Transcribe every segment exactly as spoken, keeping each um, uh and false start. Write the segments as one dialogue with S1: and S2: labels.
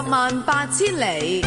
S1: 萬八千里。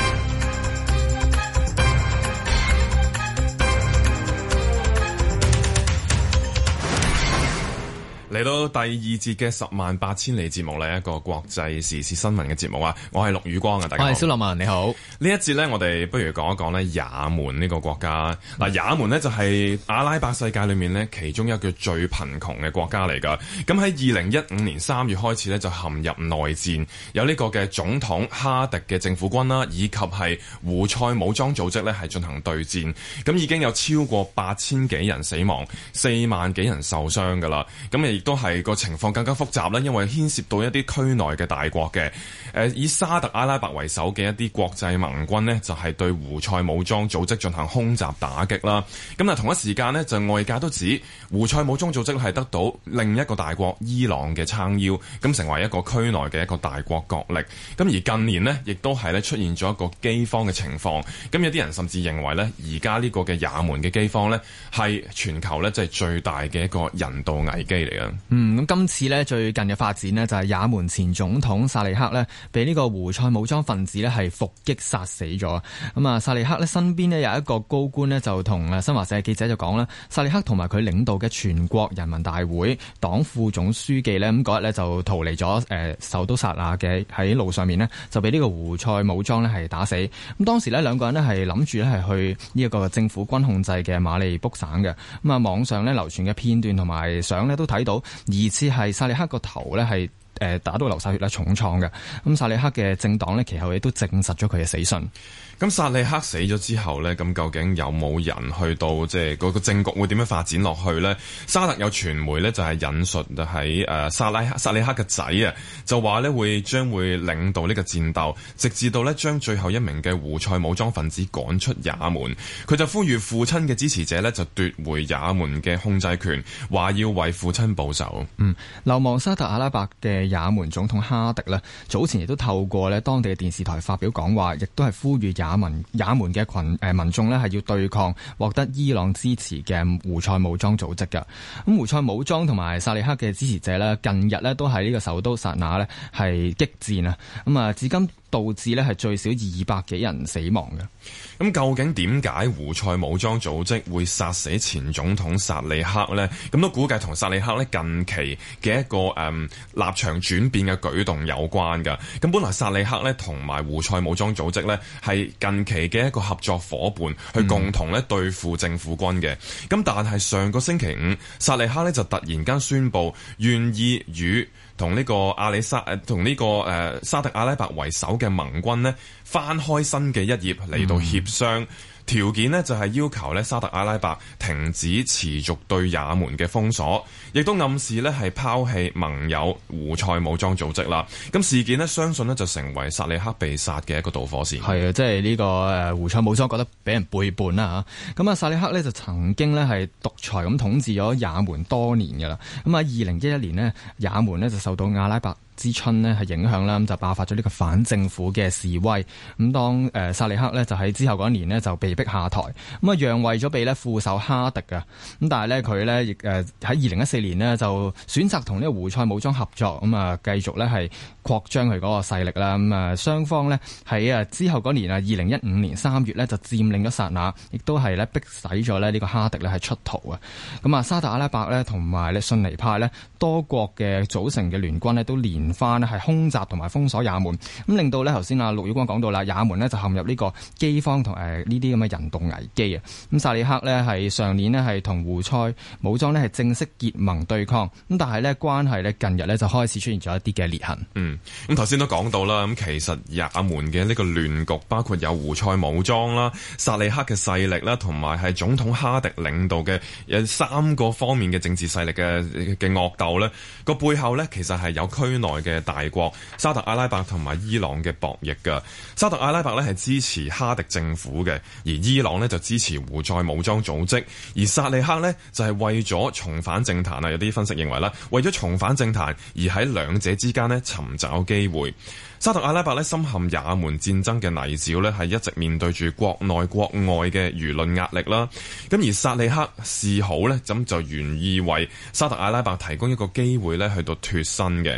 S2: 嚟到第二節嘅十萬八千里節目呢，一個國際時事新聞嘅節目啊！我係陸宇光啊，大家好。
S3: 我係蕭樂文，你好。
S2: 呢一節呢，我哋不如講一講呢也門呢個國家。嗱，也門呢就係阿拉伯世界裏面呢其中一個最貧窮嘅國家嚟㗎。咁喺二零一五年三月開始呢，就陷入內戰，有呢個嘅總統哈迪嘅政府軍啦，以及係胡塞武裝組織呢係進行對戰。咁已經有超過八千幾人死亡，四萬幾人受傷㗎啦。咁亦都係個情況更加複雜啦，因為牽涉到一啲區內嘅大國嘅，誒以沙特阿拉伯為首嘅一啲國際盟軍呢，就係對胡塞武裝組織進行空襲打擊啦。咁啊同一時間呢，就外界都指胡塞武裝組織係得到另一個大國伊朗嘅撐腰，咁成為一個區內嘅一個大國角力。咁而近年呢，亦都係咧出現咗一個饑荒嘅情況。咁有啲人甚至認為呢，而家呢個嘅也門嘅饑荒呢，係全球呢，即係最大嘅一個人道危機嚟嘅。
S3: 嗯，咁今次咧最近嘅發展呢，就係也門前總統薩利克呢，被呢個胡塞武裝分子呢係伏擊殺死咗。咁啊，薩利克呢身邊呢有一個高官呢，就同啊新華社記者就講啦，薩利克同埋佢領導嘅全國人民大會黨副總書記呢，咁嗰日呢就逃離咗誒首都薩那嘅，喺路上面呢，就俾呢個胡塞武裝呢係打死。咁當時呢，兩個人呢係諗住呢係去呢一個政府軍控制嘅馬利卜省嘅。咁啊，網上呢流傳嘅片段同埋相呢都睇到，疑似係薩利克個頭咧係誒打到流晒血啦，重創嘅。咁薩利克嘅政黨呢，其後亦都證實咗佢嘅死訊。
S2: 咁薩利克死咗之後呢，咁究竟有冇人去到即係嗰個政局會點樣發展落去呢？沙特有傳媒呢，就係引述喺誒薩拉薩利克嘅仔啊，就話呢會將會領導呢個戰鬥，直至到呢將最後一名嘅胡塞武裝分子趕出也門。佢就呼籲父親嘅支持者呢，就奪回也門嘅控制權，話要為父親報仇。
S3: 嗯，流亡沙特阿拉伯嘅也門總統哈迪呢，早前亦都透過呢當地嘅電視台發表講話，亦都係呼籲也門也門嘅群誒民眾咧係要對抗獲得伊朗支持嘅胡塞武裝組織嘅。咁胡塞武裝同埋薩利克嘅支持者咧，近日咧都喺呢個首都薩那咧係激戰啊！咁啊，至今導致咧係最少二百幾人死亡嘅。
S2: 咁究竟點解胡塞武裝組織會殺死前總統薩利克呢？咁都估計同薩利克咧近期嘅一個誒、嗯、立場轉變嘅舉動有關㗎。咁本來薩利克咧同埋胡塞武裝組織咧係近期嘅一個合作夥伴，去共同咧對付政府軍嘅。咁、嗯、但係上個星期五，薩利克咧就突然間宣布願意與同呢個阿里沙誒同呢個誒、呃、沙特阿拉伯為首嘅盟軍呢翻開新嘅一頁嚟到協商。嗯條件呢就係要求呢沙特阿拉伯停止持續對也門嘅封鎖，亦都暗示呢係拋棄盟友胡塞武裝組織啦。咁事件呢相信呢就成為薩利克被殺嘅一個導火線。
S3: 係啊，即係呢個誒胡塞武裝覺得俾人背叛啦嚇。咁啊，薩利克呢就曾經呢係獨裁咁統治咗也門多年㗎啦。咁啊，二零一一年呢，也門呢就受到阿拉伯之春呢係影響啦，咁就爆發咗呢個反政府嘅示威。咁當誒薩利克呢就喺之後嗰一年呢就被逼下台，咁啊讓位咗俾呢副手哈迪㗎。咁但係呢，佢呢亦誒喺二零一四年呢就選擇同呢個胡塞武裝合作，咁啊繼續呢係擴張佢嗰個勢力啦。咁啊雙方呢喺啊之後嗰年啊二零一五年三月呢就佔領咗薩那，亦都係呢逼使咗呢呢個哈迪呢係出逃啊。咁啊沙特阿拉伯呢同埋呢遜尼派呢多國嘅組成嘅聯軍呢都連翻咧係空襲同埋封鎖也門，咁令到咧頭先阿陸宇光講到啦，也門咧就陷入呢個饑荒同誒呢啲咁嘅人道危機啊。咁薩利克咧係上年咧係同胡塞武裝咧係正式結盟對抗，咁但係咧關係咧近日咧就開始出現咗一啲嘅裂痕。嗯，
S2: 咁頭先都講到啦，咁其實也門嘅呢個亂局包括有胡塞武裝啦、薩利克嘅勢力啦，同埋係總統哈迪領導嘅有三個方面嘅政治勢力嘅嘅惡鬥咧，個背後咧其實係有區內嘅大國沙特阿拉伯同埋伊朗嘅博弈㗎。沙特阿拉伯咧係支持哈迪政府嘅，而伊朗咧就支持胡塞武裝組織，而薩利克咧就係為咗重返政壇啊，有啲分析認為啦，為咗重返政壇而喺兩者之間咧尋找機會。沙特阿拉伯咧深陷也門戰爭嘅泥沼咧，係一直面對住國內國外嘅輿論壓力啦。咁而薩利克示好咧，咁就願意為沙特阿拉伯提供一個機會咧，去到脫身嘅。咁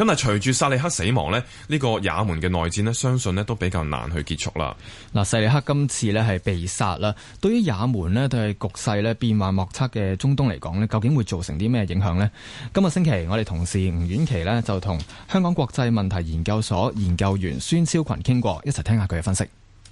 S2: 但係隨住薩利克死亡呢，呢、呢個也門嘅內戰呢，相信呢都比較難去結束啦。
S3: 嗱，薩利克今次呢係被殺啦，對於也門呢，對局勢呢變幻莫測嘅中東嚟講呢，究竟會造成啲咩影響呢？今個星期我哋同事吳婉琪呢，就同香港國際問題研究所研究員孫超群傾過，一齊聽下佢嘅分析。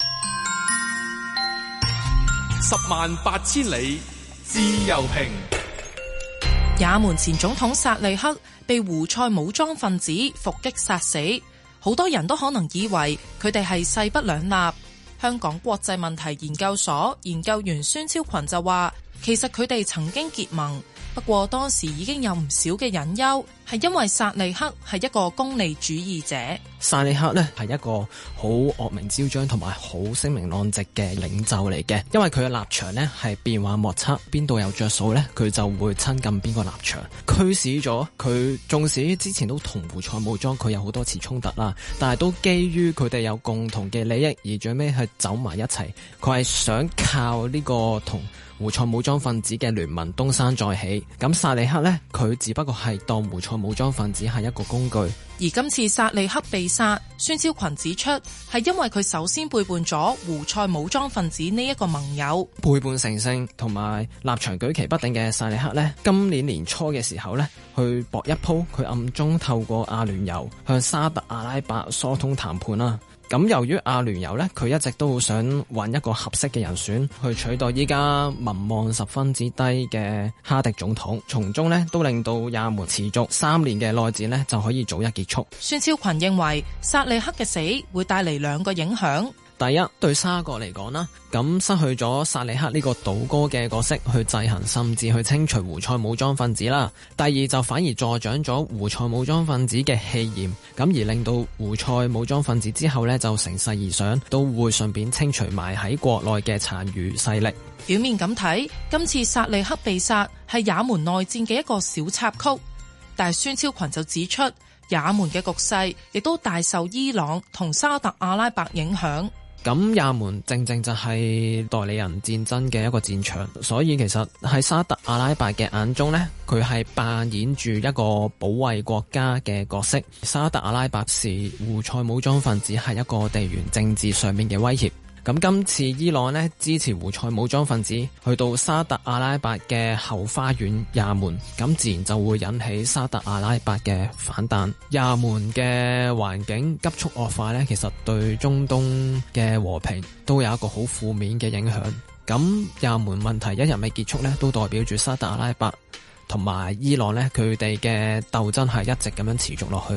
S4: 十萬八千里自由評。
S1: 也門前總統薩利克被胡塞武裝分子伏擊殺死，好多人都可能以為佢哋係勢不兩立。香港國際問題研究所研究員孫超群就話，其實佢哋曾經結盟，不過當時已經有唔少嘅隱憂，係因為薩利克係一個功利主義者。
S5: 薩利克呢係一個好惡名昭彰同埋好聲名狼藉嘅領袖嚟嘅，因為佢嘅立場呢係變幻莫測，邊度有着數呢，佢就會親近邊個立場，驅使咗佢。縱使之前都同胡塞武裝佢有好多次衝突啦，但係都基於佢哋有共同嘅利益而最尾係走埋一齊。佢係想靠呢個同胡塞武裝分子嘅聯盟東山再起。咁薩利克呢，佢只不過係當胡塞武裝分子係一個工具。
S1: 而今次薩利克被殺，孫超群指出係因為佢首先背叛咗胡塞武裝分子呢一個盟友。
S5: 背叛成性同埋立場舉棋不定嘅薩利克呢，今年年初嘅時候呢，去搏一鋪，佢暗中透過阿聯酋向沙特阿拉伯疏通談判啦。咁由於阿聯酋呢，佢一直都好想揾一個合適嘅人選去取代依家民望十分之低嘅哈迪總統，從中呢都令到也門持續三年嘅內戰呢就可以早日結束。
S1: 孫超群認為薩利克嘅死會帶嚟兩個影響。
S5: 第一，對沙國嚟講啦，咁失去咗薩利克呢個倒戈嘅角色去制衡甚至去清除胡塞武裝分子啦。第二，就反而助長咗胡塞武裝分子嘅氣焰，咁而令到胡塞武裝分子之後呢就乘勢而上，都會順便清除埋喺國內嘅殘餘勢力。
S1: 表面咁睇，今次薩利克被殺係也門內戰嘅一個小插曲，但係孫超群就指出，也門嘅局勢亦都大受伊朗同沙特阿拉伯影響。
S5: 咁也門正正就係代理人戰爭嘅一個戰場，所以其實喺沙特阿拉伯嘅眼中呢，佢係扮演住一個保衛國家嘅角色。沙特阿拉伯視胡塞武裝分子係一個地緣政治上面嘅威脅。咁今次伊朗呢支持胡塞武裝分子去到沙特阿拉伯嘅後花園也門，咁自然就會引起沙特阿拉伯嘅反彈。也門嘅環境急速惡化呢，其實對中東嘅和平都有一個好負面嘅影響。咁也門問題一日未結束呢，都代表住沙特阿拉伯同埋伊朗呢，佢哋嘅鬥爭係一直咁樣持續落去。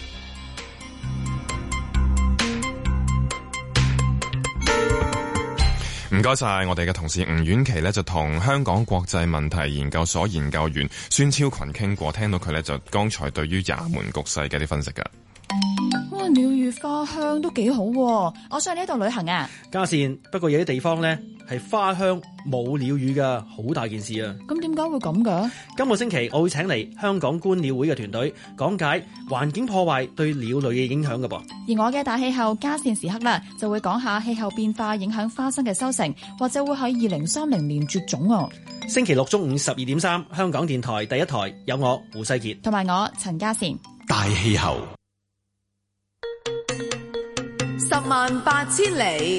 S2: 唔該晒，我哋嘅同事吳婉琪呢，就同香港國際問題研究所研究員孫超群傾過，聽到佢呢，就剛才對於也門局勢嘅啲分析㗎。
S6: 哇，鳥語花香都幾好喎，我想去呢度旅行啊！
S7: 嘉善，不過有啲地方呢係花香冇鳥語㗎，好大件事啊！
S6: 咁點解會咁㗎？
S7: 今個星期我會請嚟香港觀鳥會嘅團隊講解環境破壞對鳥類嘅影響㗎噃。
S6: 而我嘅大氣候嘉善時刻啦，就會講下氣候變化影響花生嘅收成，或者會喺二零三零年絕種啊！
S7: 星期六中午十二點三，香港電台第一台有我胡世傑
S6: 同埋我陳嘉善。
S4: 大氣候
S1: 十萬八千里。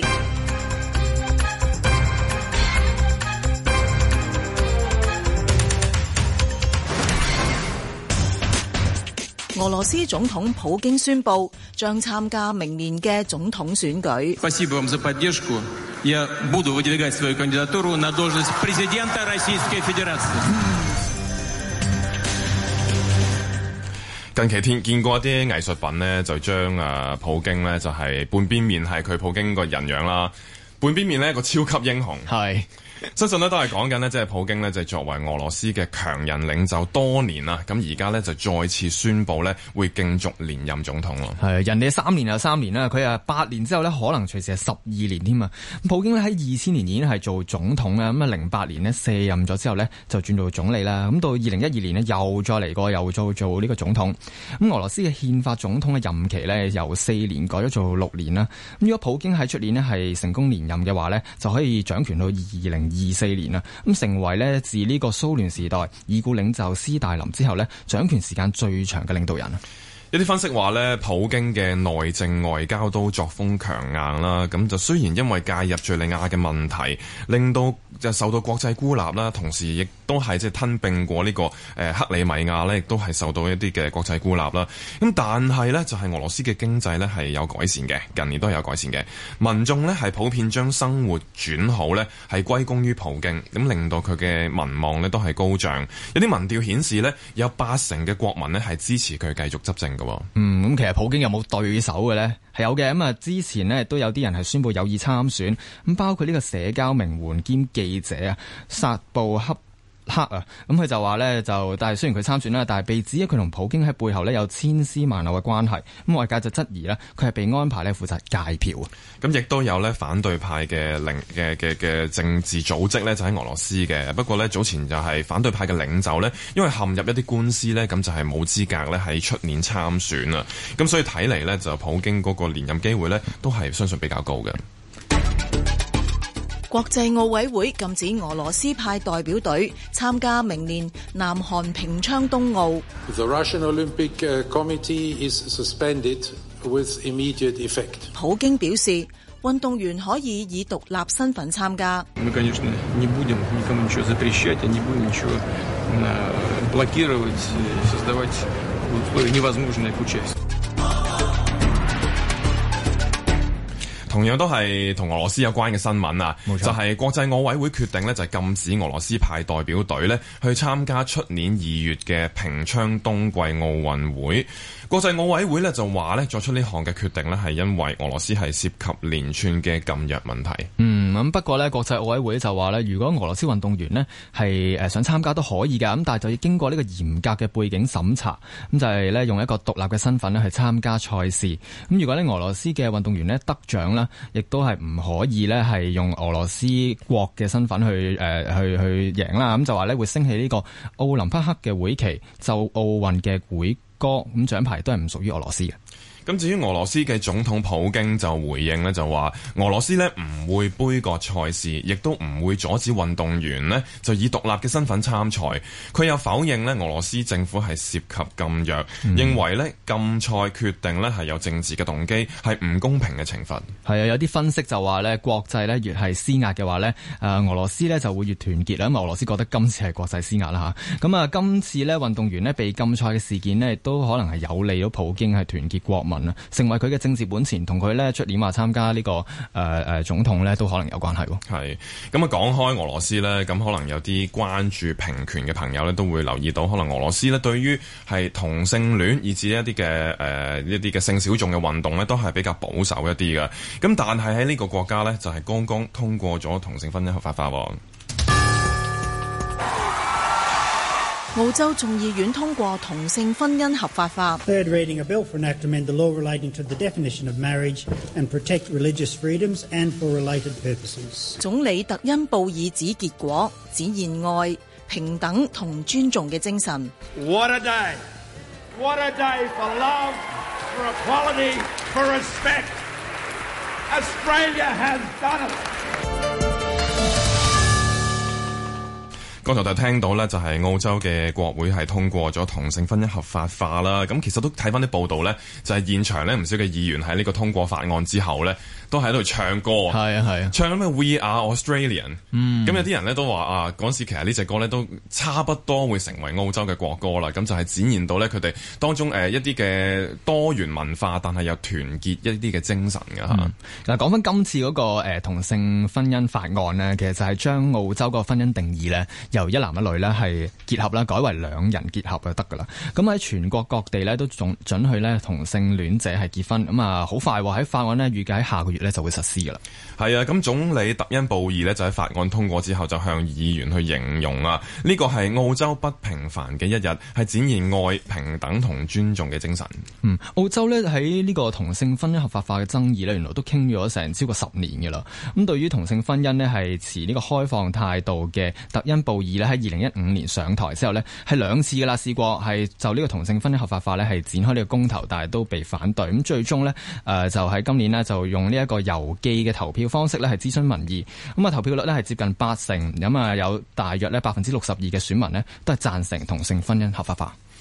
S1: 俄羅斯總統普京宣布將參加明年嘅總統選舉。
S2: 近期見見過一啲藝術品呢，就將啊普京呢，就係半邊面係佢普京個人樣啦，半邊面呢，一個超級英雄。係。相信咧都係講緊呢，即係普京呢，就作為俄羅斯嘅強人領袖多年啦，咁而家呢，就再次宣布呢，會競逐連任總統咯。係人哋三年又三年啦，佢啊八年之後呢，可能隨時係十二年添啊。普京呢，喺二千年已經係做總統啦，咁啊零八年呢，卸任咗之後呢，就轉做總理啦。咁到二零一二年呢，又再嚟過又做做呢個總統。咁俄羅斯嘅憲法總統嘅任期呢，由四年改咗做六年啦。咁如果普京喺出年呢，係成功連任嘅話呢，就可以掌權到二零二四年啦，咁成為咧自呢個蘇聯時代已故領袖斯大林之後咧掌權時間最長嘅領導人。 有啲分析話咧，普京嘅內政外交都作風強硬啦。咁就雖然因為介入敍利亞嘅問題，令到就受到國際孤立啦，同時亦都係即係吞併過呢個誒克里米亞咧，亦都係受到一啲嘅國際孤立啦。咁但係咧，就係俄羅斯嘅經濟咧係有改善嘅，近年都係有改善嘅。民眾咧係普遍將生活轉好咧，係歸功於普京，咁令到佢嘅民望咧都係高漲。有啲民調顯示咧，有八成嘅國民咧係支持佢繼續執政嘅。
S3: 嗯，咁其實普京有冇對手嘅呢？係有嘅。咁啊，之前呢都有啲人係宣布有意參選，咁包括呢個社交名媛兼記者啊，薩布克克啊，咁佢就話呢，就但係雖然佢參選啦，但係被指佢同普京喺背後呢有千絲萬縷嘅關係，咁外界就質疑呢，佢係被安排呢負責界票。
S2: 咁亦都有呢反對派嘅領嘅嘅嘅政治組織呢，就喺俄羅斯嘅，不過呢，早前就係反對派嘅領袖呢，因為陷入一啲官司呢，咁就係冇資格呢喺出年參選啊，咁所以睇嚟呢，就普京嗰個連任機會呢，都係相信比較高嘅。
S8: 國際奧委會禁止俄羅斯派代表隊參加明年南韓平昌冬奧。
S9: The Russian Olympic Committee is suspended with immediate effect.
S8: 普京表示，運動員可以以獨立身份參加。
S10: Мы, конечно, не будем никому ничего запрещать, не будем ничего блокировать, создавать условия невозможные к участию.
S2: 同樣都係同俄羅斯有關嘅新聞啊，就係國際奧委會決定呢，就係禁止俄羅斯派代表隊呢去參加出年二月嘅平昌冬季奧運會。國際奧委會呢就話呢，作出呢項嘅決定呢係因為俄羅斯係涉及連串嘅禁藥問題。
S3: 嗯，咁不過呢，國際奧委會就話呢，如果俄羅斯運動員呢係誒想參加都可以㗎，咁但係就要經過呢個嚴格嘅背景審查，咁就係呢用一個獨立嘅身份呢去參加賽事。咁如果呢俄羅斯嘅運動員呢得獎啦，亦都係唔可以呢係用俄羅斯國嘅身份去誒、呃、去去贏啦。咁就話呢會升起呢個奧林匹克嘅會旗，就奧運嘅會歌，咁獎牌都係唔屬於俄羅斯嘅。
S2: 咁至於俄羅斯嘅總統普京就回應呢，就話俄羅斯呢唔會杯葛賽事，亦都唔會阻止運動員呢就以獨立嘅身份參賽。佢又否認呢俄羅斯政府係涉及禁藥，嗯、認為呢禁賽決定呢係有政治嘅動機，係唔公平嘅懲罰。
S3: 係啊，有啲分析就話呢國際呢越係施壓嘅話呢，誒俄羅斯呢就會越團結啦。咁俄羅斯覺得今次係國際施壓啦嚇。咁啊，今次呢運動員呢被禁賽嘅事件呢，亦都可能係有利到普京係團結國民，成為佢嘅政治本錢，同佢咧出年話參加呢、這個誒誒、呃、總統咧都可能有關係。
S2: 係咁啊，講開俄羅斯咧，咁可能有啲關注平權嘅朋友咧都會留意到，可能俄羅斯咧對於係同性戀以至一啲嘅誒一啲嘅性小眾嘅運動咧，都係比較保守一啲嘅。咁但係喺呢個國家咧，就係、是、剛剛通過咗同性婚姻合法化。
S8: 澳洲眾議院通過同性婚姻合法化。
S11: Third reading a bill for an act to amend the law relating to the definition of marriage and protect religious freedoms and for related purposes.
S8: 總理特恩布爾指結果展現愛、平等同尊重嘅精神。
S12: What a day! What a day for love, for equality, for respect. Australia has done it.
S2: 剛才就聽到呢，就係澳洲嘅國會係通過咗同性婚姻合法化啦。咁其實都睇翻啲報道呢，就係現場呢唔少嘅議員喺呢個通過法案之後呢，都喺度唱歌。
S3: 係啊係啊，
S2: 唱緊咩 We Are Australian。嗯，咁有啲人呢都話啊，嗰時其實呢隻歌呢都差不多會成為澳洲嘅國歌啦。咁就係展現到呢佢哋當中誒一啲嘅多元文化，但係又團結一啲嘅精神㗎嚇。
S3: 嗱，講翻今次嗰個誒同性婚姻法案呢，其實就係將澳洲個婚姻定義呢，由一男一女咧係結合啦，改為兩人結合就得噶啦。咁喺全國各地咧都仲准許咧同性戀者係結婚。咁啊，好快喎！喺法案呢預計喺下個月咧就會實施噶啦。
S2: 係啊，咁總理特恩布爾呢就喺法案通過之後就向議員去形容啊，呢個係澳洲不平凡嘅一日，係展現愛、平等同尊重嘅精神。
S3: 嗯，澳洲咧喺呢個同性婚姻合法化嘅爭議咧，原來都傾咗成超過十年嘅啦。咁對於同性婚姻呢係持呢個開放態度嘅特恩布爾咧喺二零一五年上台之後呢係兩次噶啦，試過係就呢個同性婚姻合法化呢係展開呢個公投，但係都被反對。咁最終呢，誒、呃、就喺今年呢就用呢一個郵寄嘅投票方式呢係諮詢民意。咁啊投票率呢係接近八成，咁啊有大約呢百分之六十二嘅選民呢都係贊成同性婚姻合法化。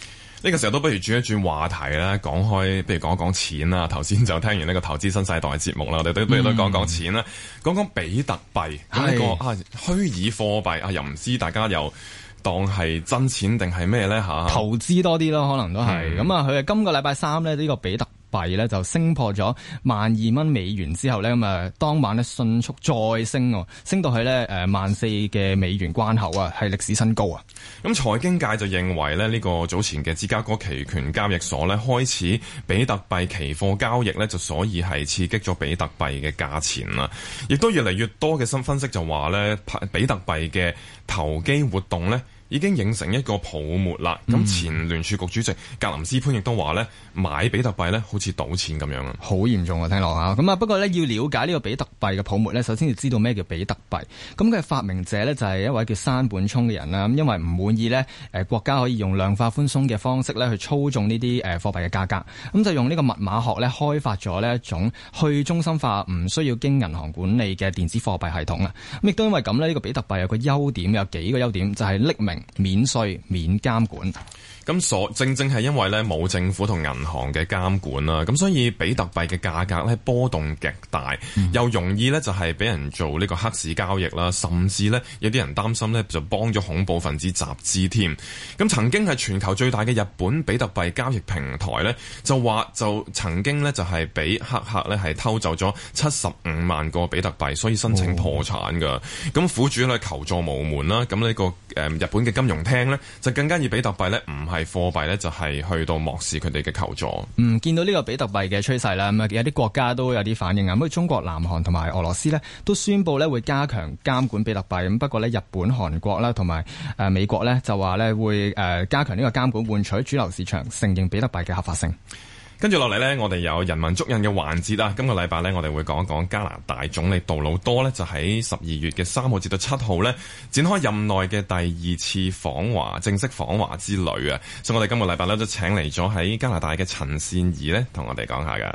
S2: 呢個時候都不如轉一轉話題啦，講開，不如講一講錢啦。頭先就聽完呢個投資新世代嘅節目啦，我哋都不如都講講錢啦，講講比特幣咁呢個啊虛擬貨幣啊，又唔知大家又當係真錢定係咩咧嚇？
S3: 投資多啲咯，可能都係咁啊！佢係今個禮拜三咧，呢個比特幣咧就升破咗萬二蚊美元之後咧，咁啊當晚咧迅速再升，升到去咧誒萬四嘅美元關口啊，係歷史新高啊！
S2: 咁財經界就認為咧，呢個早前嘅芝加哥期權交易所咧開始比特幣期貨交易咧，就所以係刺激咗比特幣嘅價錢啦。亦都越嚟越多嘅新分析就話咧，比特幣嘅投機活動咧，已經形成一個泡沫啦。咁、嗯、前聯儲局主席格林斯潘亦都話咧，買比特幣咧好似賭錢咁樣啊，
S3: 好嚴重啊！聽落嚇咁啊。不過咧，要了解呢個比特幣嘅泡沫咧，首先要知道咩叫比特幣。咁佢嘅發明者咧就係一位叫山本聰嘅人啦。咁因為唔滿意咧誒國家可以用量化寬鬆嘅方式咧去操縱呢啲誒貨幣嘅價格，咁就用呢個密碼學咧開發咗呢一種去中心化、唔需要經銀行管理嘅電子貨幣系統啦。咁亦都因為咁咧，呢個比特幣有個優點，有幾個優點，就係匿名、免稅、免監管。
S2: 咁所正正係因為咧冇政府同銀行嘅監管啦，咁所以比特幣嘅價格咧波動極大，嗯、又容易咧就係俾人做呢個黑市交易啦，甚至咧有啲人擔心咧就幫咗恐怖分子集資添。咁曾經係全球最大嘅日本比特幣交易平台咧，就話就曾經咧就係俾黑客咧係偷走咗七十五萬個比特幣，所以申請破產噶。咁、哦、苦主咧求助無門啦。咁呢個誒日本嘅金融廳咧就更加以比特幣咧唔係貨幣咧就係去到漠視佢哋嘅求助。
S3: 嗯，見到呢個比特幣嘅趨勢啦，咁啊有啲國家都有啲反應啊。咁中國、南韓同埋俄羅斯咧都宣布咧會加強監管比特幣。咁不過咧日本、韓國啦同埋誒美國咧就話咧會誒加強呢個監管，換取主流市場承認比特幣嘅合法性。
S2: 跟住落嚟呢，我哋有人文足印嘅環節啦。今個禮拜呢，我哋會講一講加拿大總理杜魯多呢，就喺十二月嘅三號至到七號呢，展開任內嘅第二次訪華正式訪華之旅啊。所以我哋今個禮拜呢，都請嚟咗喺加拿大嘅陳善宜呢，同我哋講下㗎。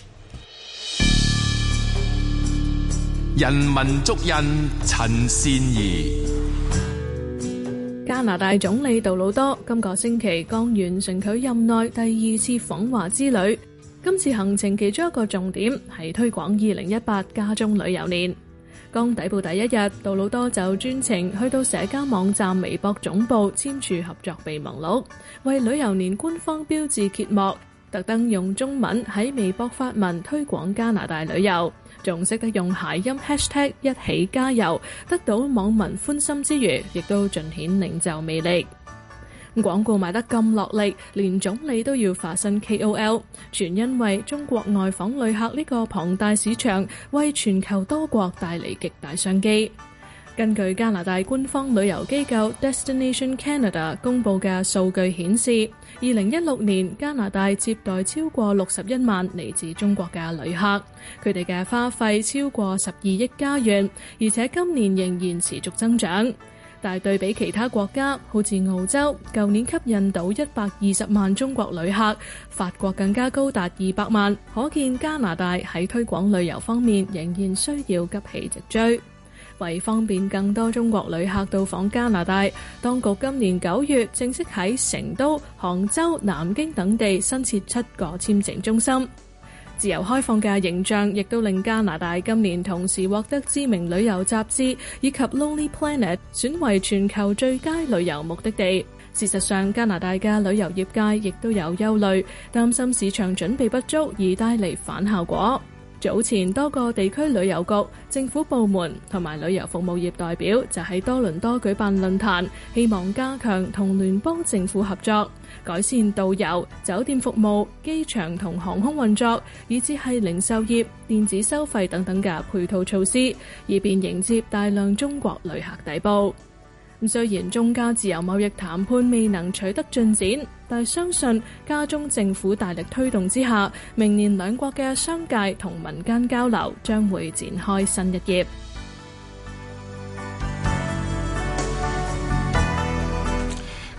S4: 人文足印，陳善宜。
S13: 加拿大總理杜魯多今個星期剛完成佢任內第二次訪華之旅。今次行程其中一個重點係推廣二零一八加中旅遊年。剛抵埗第一日，杜魯多就專程去到社交網站微博總部簽署合作備忘錄，為旅遊年官方標誌揭幕，特登用中文喺微博發文推廣加拿大旅遊，仲識得用諧音 hashtag 一起加油，得到網民歡心之餘，亦都盡顯領袖魅力。廣告賣得咁落力，連總理都要化身 K O L， 全因為中國外訪旅客呢個龐大市場，為全球多國帶嚟極大商機。根據加拿大官方旅遊機構 Destination Canada 公佈嘅數據顯示，二零一六年加拿大接待超過六十一萬嚟自中國嘅旅客，佢哋嘅花費超過十二億加元，而且今年仍然持續增長。但係對比其他國家，好似澳洲，舊年吸引到一百二十萬中國旅客，法國更加高達二百萬，可見加拿大喺推廣旅遊方面仍然需要急起直追。為方便更多中國旅客到訪加拿大，當局今年九月正式喺成都、杭州、南京等地新設七個簽證中心。自由開放嘅形象亦都令加拿大今年同時獲得知名旅遊雜誌以及 Lonely Planet 選為全球最佳旅遊目的地。事實上，加拿大嘅旅遊業界亦都有憂慮，擔心市場準備不足而帶嚟反效果。早前多個地區旅遊局、政府部門同埋旅遊服務業代表就喺多倫多舉辦論壇，希望加強同聯邦政府合作，改善導遊、酒店服務、機場同航空運作，以至係零售業、電子收費等等嘅配套措施，以便迎接大量中國旅客抵埗。咁雖然中加自由貿易談判未能取得進展，但係相信加中政府大力推動之下，明年兩國嘅商界同民間交流將會展開新一頁。
S2: 唔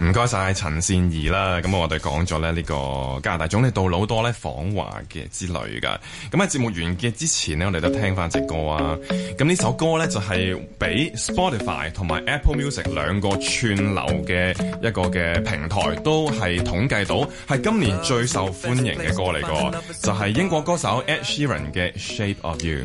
S2: 唔該晒陳善宜啦，咁我哋講咗咧呢個加拿大總理杜魯多咧訪華嘅之旅噶。咁喺節目完結之前呢，我哋都聽翻隻歌啊。咁呢首歌咧就係俾 Spotify 同埋 Apple Music 兩個串流嘅一個嘅平台都係統計到係今年最受歡迎嘅歌嚟個，就係英國歌手 Ed Sheeran 嘅 Shape of You。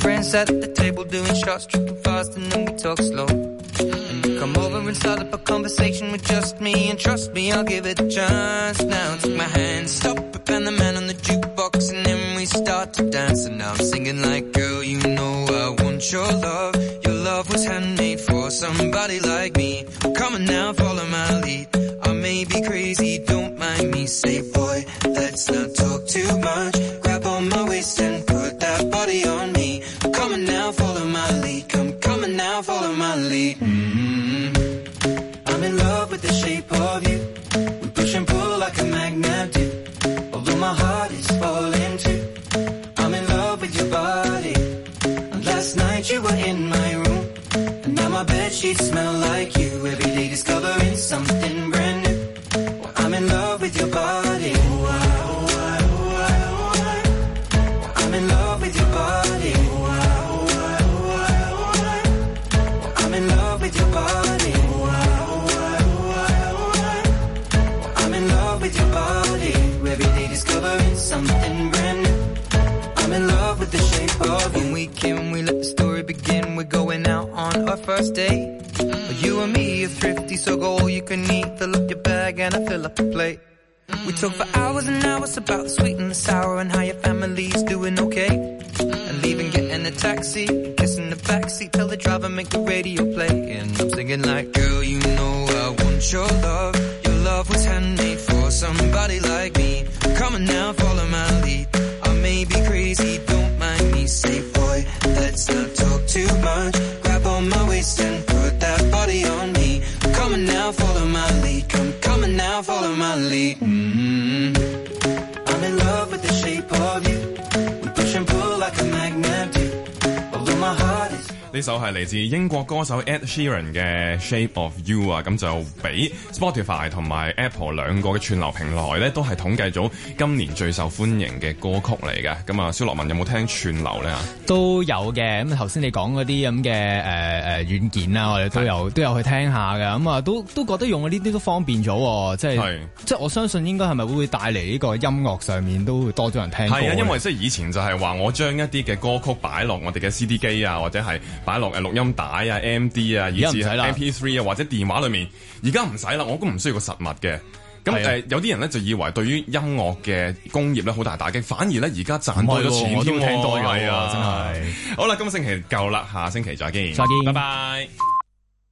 S14: Come over and start up a conversation with just me, and trust me, I'll give it a chance. Now take my hand, stop it, and the man on the jukebox, and then we start to dance. And now I'm singing like, girl, you know I want your love. Your love was handmade for somebody like me. Come on now, follow my lead. I may be crazy, don't mind me. Say, boy, let's not talk too much. Grab on my waist and put that body on me. Come on now, follow my lead. Come, come on now, follow my lead. I'm in love with the shape of you. We push and pull like a magnet do. Although my heart is falling too. I'm in love with your body. And last night you were in my room. And now my bedsheets smell like you. Every day discovering something brand new. Well, I'm in love with your body. Oh, I, oh, I, oh, I, oh, I. Well, I'm in love with your body. Oh, I, oh, I, oh, I, oh, I. Well, I'm in love with your body. Every day discovering something brand new. I'm in love with the shape of you. When we can, we let the story begin. We're going out on our first date. You and me are thrifty, so go all you can eat. Fill up your bag and I fill up a plate. We talk for hours and hours about the sweet and the sour and how your family's doing okay. And leaving, getting a taxi, kissing the backseat, tell the driver make the radio play. And I'm singing like, girl, you know I want your love. Your love was handmade for somebody like me. Come on now, follow my lead. I may be crazy, don't mind me. Say, boy, let's not talk too much. Grab on my waist and put that body on me. Come on now, follow my lead. Come, come on now, follow my lead. Mm-hmm. I'm in love with the shape of you. We push and pull like a magnet do. Although my heart is
S2: 呢首係嚟自英國歌手 Ed Sheeran 嘅 Shape of You 啊，咁就俾 Spotify 同埋 Apple 兩個嘅串流平台咧，都係統計咗今年最受歡迎嘅歌曲嚟嘅。咁啊，蕭樂文有冇聽串流咧？
S3: 都有嘅。咁頭先你講嗰啲咁嘅誒誒軟件啊，我哋都有都有去聽下嘅。咁啊，都都覺得用呢啲都方便咗，即係即係我相信應該係咪會帶嚟呢個音樂上面都會多咗人聽歌。係啊，因
S2: 為即係以前就係話我將一啲嘅歌曲擺落我哋嘅 C D 機啊，或者係擺落誒錄音帶啊、M D 啊，以至係 M P 三啊或者電話裏面，而家唔使啦，我都唔需要個實物嘅。咁誒、呃、有啲人咧就以為對於音樂嘅工業咧好大打擊，反而咧而家賺多咗錢添，我都聽多咗啊！真係。好啦，今個星期夠啦，下星期再見，
S3: 再見，
S2: 拜拜。